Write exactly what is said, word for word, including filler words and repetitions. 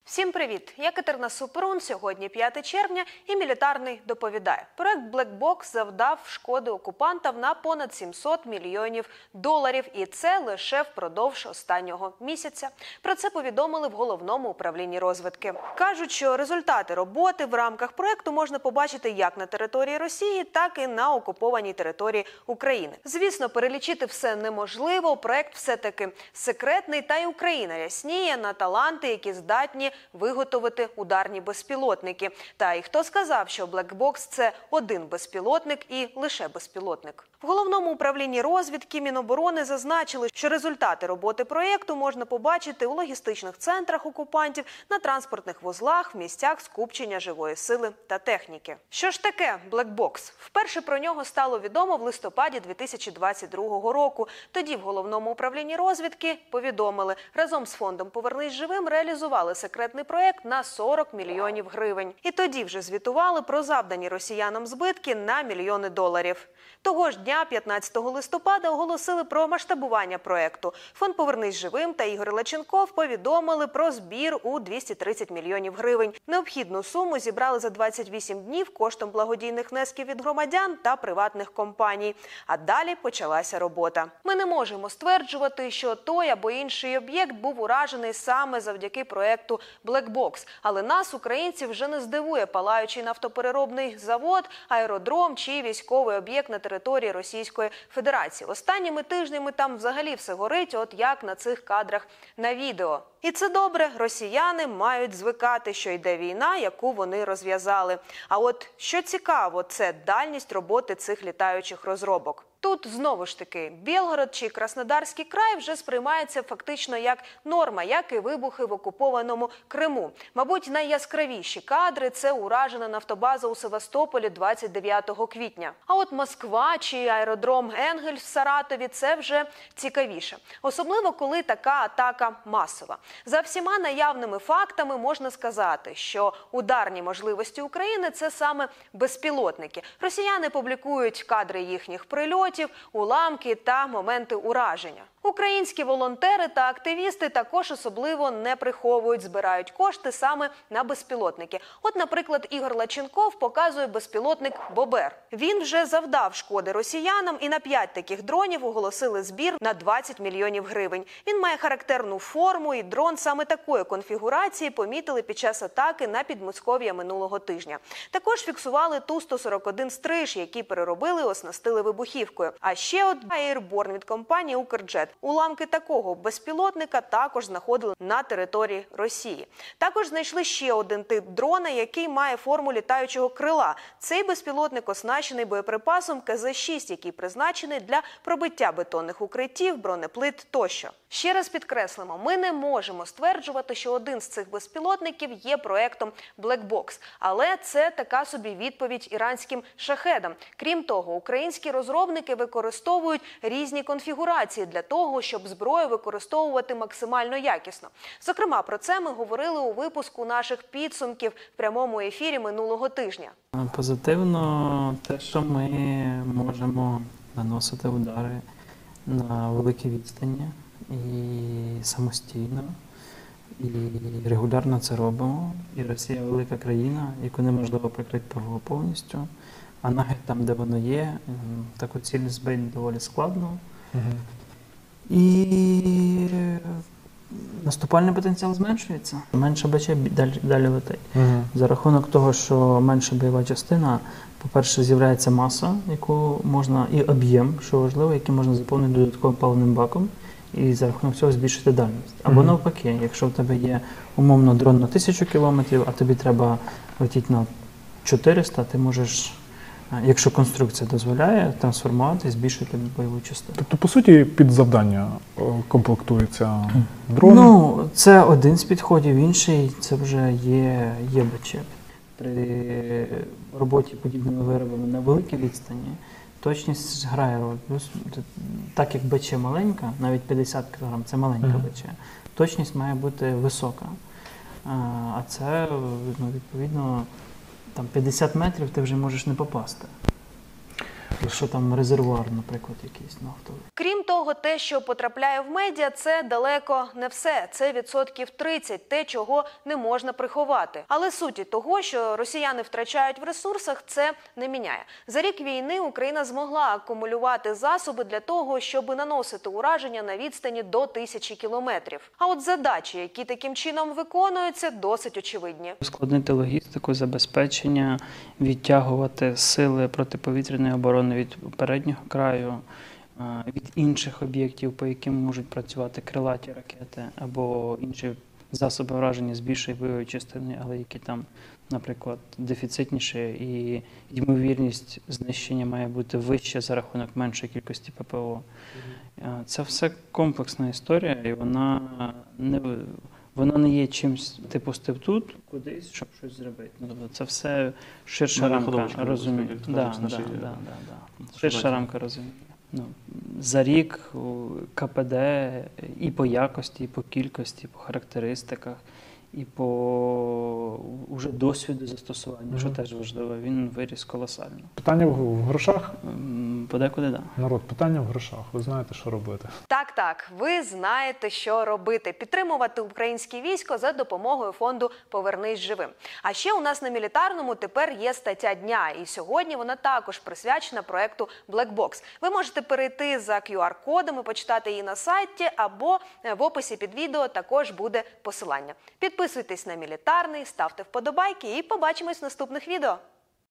Всім привіт! Я Катерина Супрун. Сьогодні п'яте червня і Мілітарний доповідає. Проект Black Box завдав шкоди окупантам на понад сімсот мільйонів доларів. І це лише впродовж останнього місяця. Про це повідомили в Головному управлінні розвідки. Кажуть, що результати роботи в рамках проекту можна побачити як на території Росії, так і на окупованій території України. Звісно, перелічити все неможливо. Проект все-таки секретний, та й Україна рясніє на таланти, які здатні виготовити ударні безпілотники. Та і хто сказав, що Black Box – це один безпілотник і лише безпілотник? В Головному управлінні розвідки Міноборони зазначили, що результати роботи проєкту можна побачити у логістичних центрах окупантів, на транспортних вузлах, в місцях скупчення живої сили та техніки. Що ж таке Black Box? Вперше про нього стало відомо в листопаді дві тисячі двадцять другого року. Тоді в Головному управлінні розвідки повідомили, разом з фондом «Повернись живим» реалізували секретний проєкт на сорок мільйонів гривень. І тоді вже звітували про завдані росіянам збитки на мільйони доларів. Того ж дня, п'ятнадцятого листопада, оголосили про масштабування проєкту. Фонд «Повернись живим» та Ігор Лаченков повідомили про збір у двісті тридцять мільйонів гривень. Необхідну суму зібрали за двадцять вісім днів коштом благодійних внесків від громадян та приватних компаній. А далі почалася робота. Ми не можемо стверджувати, що той або інший об'єкт був уражений саме завдяки проєкту Black Box. Але нас, українців, вже не здивує палаючий нафтопереробний завод, аеродром чи військовий об'єкт на території Російської Федерації. Останніми тижнями там взагалі все горить, от як на цих кадрах на відео. І це добре, росіяни мають звикати, що йде війна, яку вони розв'язали. А от що цікаво, це дальність роботи цих літаючих розробок. Тут, знову ж таки, Білгород чи Краснодарський край вже сприймається фактично як норма, як і вибухи в окупованому Криму. Мабуть, найяскравіші кадри – це уражена нафтобаза у Севастополі двадцять дев'ятого квітня. А от Москва чи аеродром Енгельс в Саратові – це вже цікавіше. Особливо, коли така атака масова. За всіма наявними фактами можна сказати, що ударні можливості України – це саме безпілотники. Росіяни публікують кадри їхніх прильотів, уламки та моменти ураження. Українські волонтери та активісти також особливо не приховують, збирають кошти саме на безпілотники. От, наприклад, Ігор Лаченков показує безпілотник «Бобер». Він вже завдав шкоди росіянам, і на п'ять таких дронів оголосили збір на двадцять мільйонів гривень. Він має характерну форму, і дрон саме такої конфігурації помітили під час атаки на Підмосков'я минулого тижня. Також фіксували Ту сто сорок один «Стриж», який переробили і оснастили вибухівкою. А ще один Airborne від компанії «Укрджет». Уламки такого безпілотника також знаходили на території Росії. Також знайшли ще один тип дрона, який має форму літаючого крила. Цей безпілотник оснащений боєприпасом Ка Зе шість, який призначений для пробиття бетонних укриттів, бронеплит тощо. Ще раз підкреслимо, ми не можемо стверджувати, що один з цих безпілотників є проектом Black Box. Але це така собі відповідь іранським шахедам. Крім того, українські розробники використовують різні конфігурації для того, щоб зброю використовувати максимально якісно. Зокрема, про це ми говорили у випуску наших підсумків в прямому ефірі минулого тижня. Позитивно те, що ми можемо наносити удари на великій відстані і самостійно, і регулярно це робимо. І Росія – велика країна, яку неможливо прикрити повністю, а навіть там, де воно є, таку ціль збити доволі складно. Угу. І наступальний потенціал зменшується. Менше БЧ далі, далі летить. Угу. За рахунок того, що менша бойова частина, по-перше, з'являється маса, яку можна, і об'єм, що важливо, який можна заповнити додатковим паливним баком, і за рахунок цього збільшити дальність. Або угу. навпаки, якщо в тебе є умовно дрон на тисячу кілометрів, а тобі треба летіти на чотириста, ти можеш, якщо конструкція дозволяє, трансформувати і збільшити бойову частину. Тобто, по суті, під завдання комплектується дрон? Ну, це один з підходів, інший – це вже є, є БЧ. При роботі подібними виробами на великій відстані точність грає роль. Плюс, так як БЧ маленька, навіть п'ятдесят кілограм – це маленька mm-hmm. БЧ, точність має бути висока. А це, ну, відповідно, там п'ятдесят метрів ти вже можеш не попасти. Якщо там резервуар, наприклад, якийсь нафтовий. Крім того, те, що потрапляє в медіа, це далеко не все. Це відсотків тридцять, те, чого не можна приховати. Але суті того, що росіяни втрачають в ресурсах, це не міняє. За рік війни Україна змогла акумулювати засоби для того, щоб наносити ураження на відстані до тисячі кілометрів. А от задачі, які таким чином виконуються, досить очевидні. Ускладнити логістику, забезпечення, відтягувати сили протиповітряної оборони від переднього краю, від інших об'єктів, по яким можуть працювати крилаті ракети або інші засоби враження з більшої бойової частини, але які там, наприклад, дефіцитніші, і ймовірність знищення має бути вища за рахунок меншої кількості ППО. Це все комплексна історія, і вона не, вона не є чимось, ти пустив тут, кудись, щоб щось зробити. Ну, тобто це все ширша рамка розуміння. Да, да, да, да, да. Ширша рамка розуміння. Ну, за рік КПД і по якості, і по кількості, і по характеристиках, і по уже досвіду застосування, mm-hmm. що теж важливо, він виріс колосально. Питання в, в грошах? Подекуди, так. Да. Народ, питання в грошах. Ви знаєте, що робити? Так, так, ви знаєте, що робити. Підтримувати українське військо за допомогою фонду «Повернись живим». А ще у нас на Мілітарному тепер є стаття дня, і сьогодні вона також присвячена проекту Black Box. Ви можете перейти за кю ар-кодом і почитати її на сайті, або в описі під відео також буде посилання. Підписуйтесь на Мілітарний, ставте вподобайки і побачимось в наступних відео.